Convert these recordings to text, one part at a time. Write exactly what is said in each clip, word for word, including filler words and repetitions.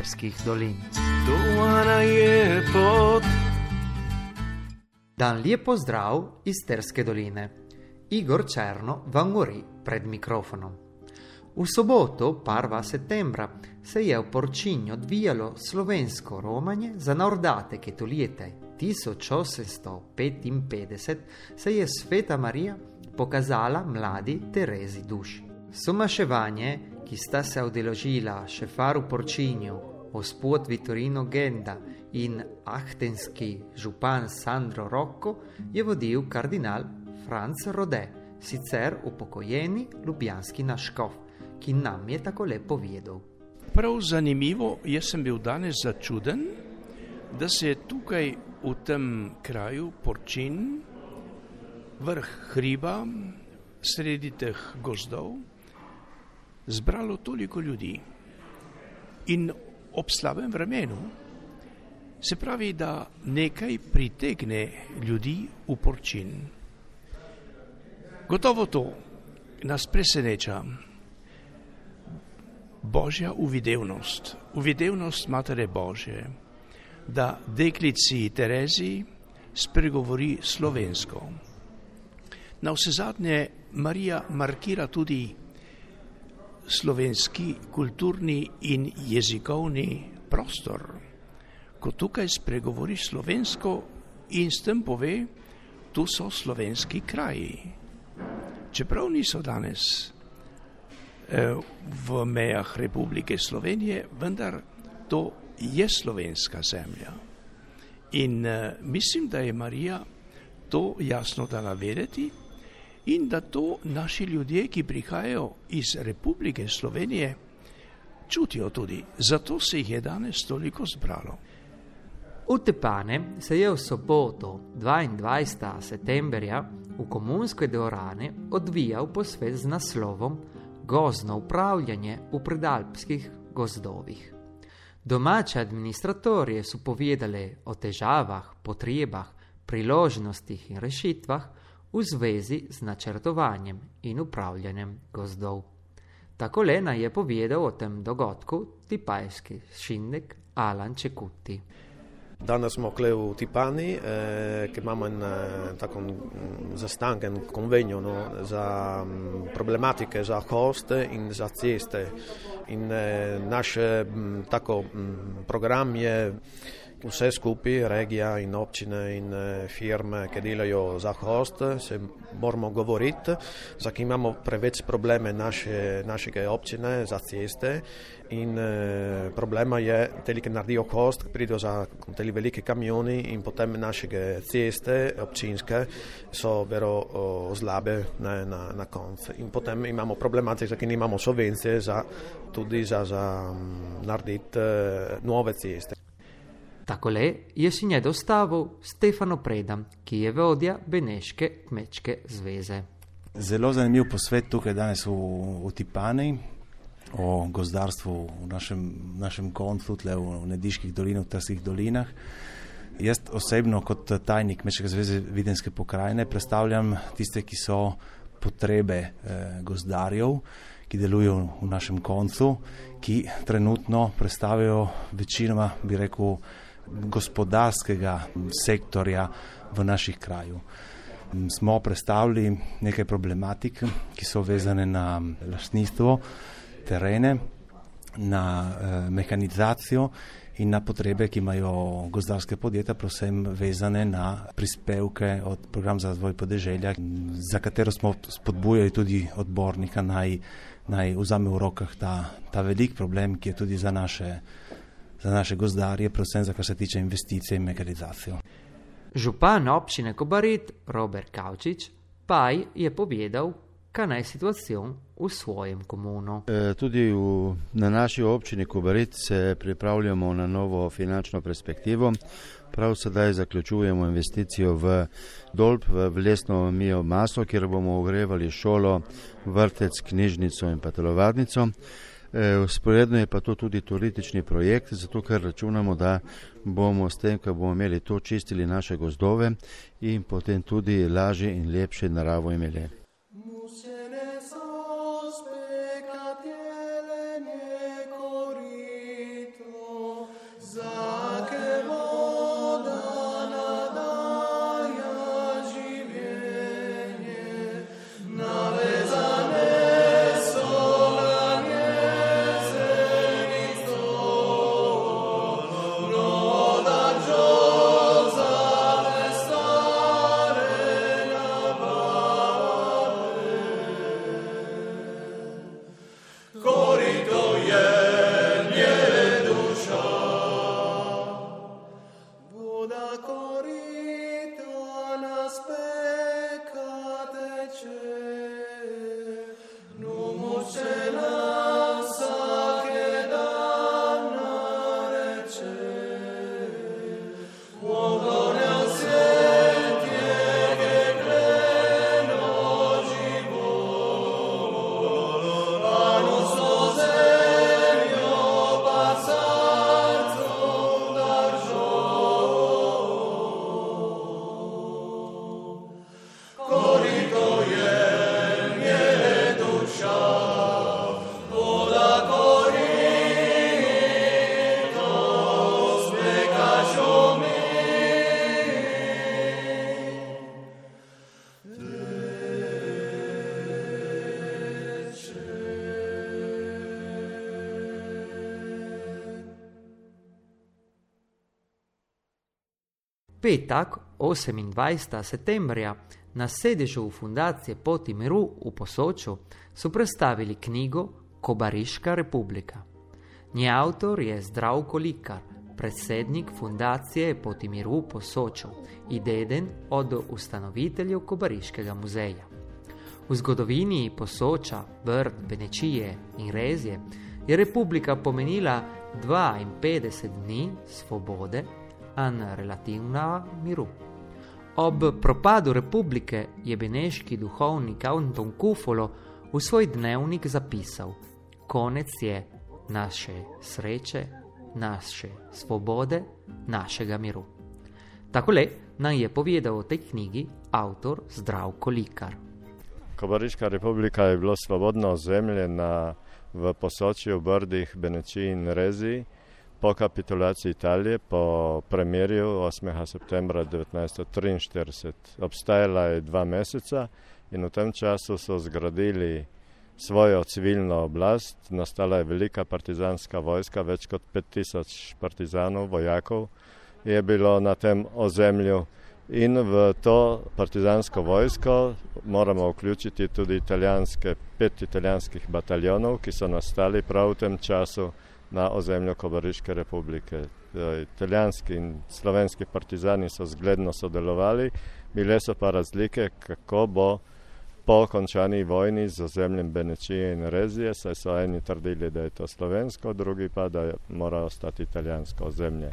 Terskih dolin. Dovana je pot. Dan lijep pozdrav iz Terske doline. Igor Černo vam govori pred mikrofonom. V soboto, prvega septembra, se je v Porčinju odvijalo slovensko romanje za nordate, ki to leta tisoč osemsto petinpetdeset se je Sveta Marija pokazala mladi Terezi duši. Somaševanje, ki sta se udeležila šefar v Porčinju, gospod Vittorino Genda in ahtenski župan Sandro Rocco, je vodil kardinal Franc Rode, sicer upokojeni ljubljanski naškof, ki nam je tako lepo povedal. Prav zanimivo, jaz sem bil danes začuden, da se je tukaj v tem kraju Porčin, vrh hriba, sredi teh gozdov, zbralo toliko ljudi. In ob slabem vremenu, se pravi, da nekaj pritegne ljudi v Porčin. Gotovo to nas preseneča. Božja uvidevnost, uvidevnost Matere Božje, da deklici Terezi spregovori slovensko. Na vsezadnje Marija markira tudi slovenski kulturni in jezikovni prostor, ko tukaj spregovori slovensko in s tem pove, tu so slovenski kraji. Čeprav niso danes v mejah Republike Slovenije, vendar to je slovenska zemlja. In uh, mislim, da je Marija to jasno dala vedeti in da to naši ljudje, ki prihajajo iz Republike Slovenije, čutijo tudi. Zato se jih je danes toliko zbralo. V Tepane se je v soboto dvaindvajsetega septembra v komunskoj dvorani odvijal posvet z naslovom Gozdno upravljanje v predalpskih gozdovih. Domače administratorje so povedali o težavah, potrebah, priložnostih in rešitvah v zvezi z načrtovanjem in upravljanjem gozdov. Tako Lena je povedal o tem dogodku tipajski šinnik Alan Čekuti. Danas smo kle v Tipani, eh, ki imamo en eh, tako zastanken konvenjo no, za m, problematike za hoste in za ceste. In eh, naš m, tako m, program je vse skupaj, regija in občine in eh, firme, ki delajo za host, se moramo govoriti, zakaj imamo preveč probleme naše, našega občine za ceste. In eh, problema je, teli, ki naredijo host, pridejo za teli veliki kamioni in potem naše ceste občinske so vero o, slabe na, na, na koncu. In potem imamo problematike, ki nimamo subvencije za, tudi za, za um, narediti uh, nove ceste. Takole je si nje dostavil Stefano Preda, ki je vodja Beneške kmečke zveze. Zelo zanimiv posvet tukaj danes v, v Tipani o gozdarstvu v našem, našem koncu, tle v Nediških dolinah, v Terskih dolinah. Jaz osebno kot tajnik Kmečke zveze Videnske pokrajine predstavljam tiste, ki so potrebe eh, gozdarjev, ki delujejo v našem koncu, ki trenutno predstavljajo večinoma, bi rekel, gospodarskega sektorja v naših kraju. Smo predstavili nekaj problematik, ki so vezane na lastništvo, terene, na eh, mehanizacijo in na potrebe, ki imajo gozdarske podjetja, predvsem vezane na prispevke od programa za razvoj podeželja, za katero smo spodbujali tudi odbornika, naj, naj vzame v rokah ta, ta velik problem, ki je tudi za naše, za naše gozdarje, predvsem za kar se tiče investicije in mehanizacijo. Župan občine Kobarid Robert Kavčič pa je povedal, kaj je situacija v svojem komunu. E, tudi v, na naši občini Kobarid se pripravljamo na novo finančno perspektivo. Prav sedaj zaključujemo investicijo v Dolb, v lesno biomaso, kjer bomo ogrevali šolo, vrtec, knjižnico in pa telovadnico. Vzporedno je pa to tudi turistični projekt, zato ker računamo, da bomo s tem, ko bomo imeli to, čistili naše gozdove in potem tudi lažje in lepše naravo imeli. petak osemindvajsetega septembrja na sedežu Fundacije Poti miru u Posoču su predstavili knjigu Kobariška republika. Njen autor je Zdravko Likar, predsjednik Fundacije Poti miru u Posoču i deden od ustanoviteljev Kobariškega muzeja. V zgodovini Posoča, Brd, Benečije in Rezije je republika pomenila dvainpetdeset dni svobode in relativna miru. Ob propadu republike je beneški duhovnik Anton Kufolo v svoj dnevnik zapisal: konec je naše sreće, naše svobode, našega miru. Takole nam je povedal o tej knjigi avtor Zdravko Likar. Kobariška republika je bilo svobodno ozemlje na, v Posočju, Brdih, Benečiji in Reziji po kapitulaciji Italije po premirju osmega septembra devetnajststo triinštirideset. Obstajala je dva meseca in v tem času so zgradili svojo civilno oblast. Nastala je velika partizanska vojska, več kot pet tisoč partizanov, vojakov je bilo na tem ozemlju. In v to partizansko vojsko moramo vključiti tudi italijanske, pet italijanskih bataljonov, ki so nastali prav v tem času na ozemlju Kobariške republike. Italijanski in slovenski partizani so zgledno sodelovali, bile so pa razlike, kako bo po končani vojni z ozemljem Benečije in Rezije, saj so eni trdili, da je to slovensko, drugi pa, da mora ostati italijansko ozemlje.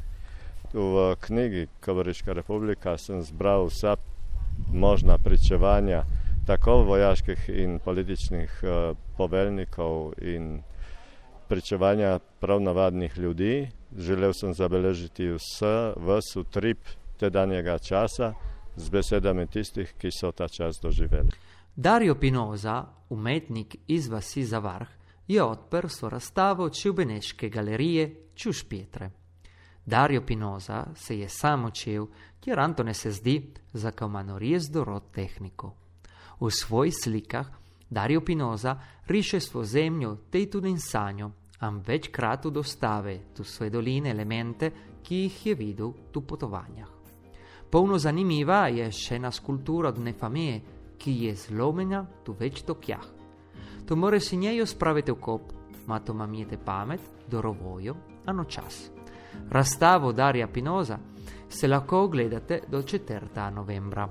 V knjigi Kobariška republika sem zbral vsa možna pričevanja tako vojaških in političnih uh, poveljnikov in pričevanja prav navadnih ljudi. Želel sem zabeležiti vse, vse utrip tedanjega časa z besedami tistih, ki so ta čas doživeli. Dario Pinoza, umetnik iz vasi Zavarh, je odprl svojo razstavo v Beneške galerije Čuš Pietre. Dario Pinoza se je sam učil, kjer Antone se zdi, za kamanorijas dorod tehniko. V svojih slikah Dario Pinoza riše svojo zemljo tej tudi in sanjo, am večkrat dostave tu svoje doline elemente, ki jih je videl tu potovanjah. Polno zanimiva je še ena skulptura od Nefamije, ki je zlomenja tu več tokjah. To more si njejo spraviti v kop, ma to mamijete pamet, dorovojo, ano čas. Razstavo Daria Pinoza se lahko ogledate do četrtega novembra.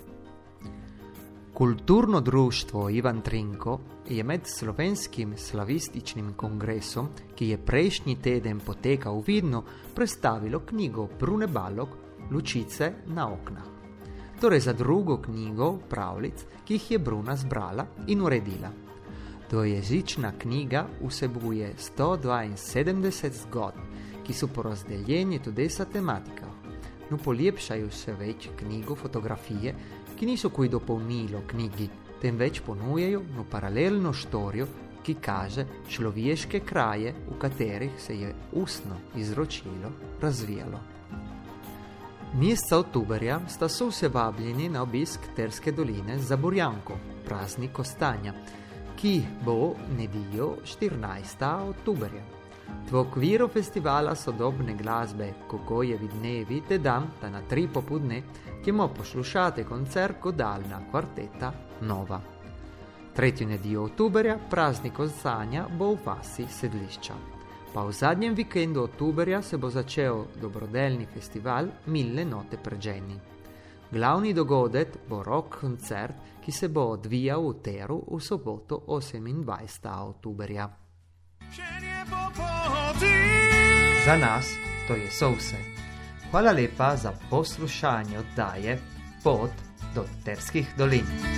Kulturno društvo Ivan Trinko je med slovenskim slavističnim kongresom, ki je prejšnji teden potekal v Vidnu, predstavilo knjigo Brune Balog Lučice na oknah. Torej za drugo knjigo pravljic, ki jih je Bruna zbrala in uredila. Dvojezična knjiga vsebuje sto dvainsedemdeset zgodb, ki so porazdeljeni tudi sa tematikah. No, polepšajo se več knjigo fotografije, ki niso koji dopolnilo knjigi, temveč ponujajo no paralelno štorijo, ki kaže človeške kraje, v katerih se je ustno izročilo razvijalo. Meseca oktoberja sta so vse vabljeni na obisk Terske doline za Burjanko, praznik kostanja, ki bo nedeljo štirinajstega oktoberja. V okviru festivala sodobne glasbe Kogojevi dnevi te dan, da na tri popodne, kjemo poslušate koncert godalna kvarteta Nova. Tretjo nedeljo oktoberja praznik kostanja bo v vasi Sedlišča. Pa v zadnjem vikendu oktoberja se bo začel dobrodelni festival Milne note pređeni. Glavni dogodek bo rock koncert, ki se bo odvijal v Teru v soboto osemindvajsetega oktoberja. Za nas to je so vse. Hvala lepa za poslušanje oddaje Pot do Terskih dolin.